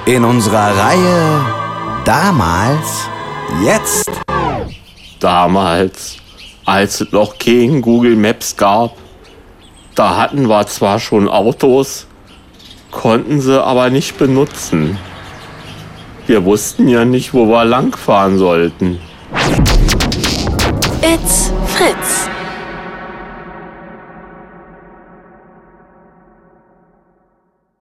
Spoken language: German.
In unserer Reihe Damals, Jetzt. Damals, als es noch kein Google Maps gab, da hatten wir zwar schon Autos, konnten sie aber nicht benutzen. Wir wussten ja nicht, wo wir langfahren sollten. It's Fritz.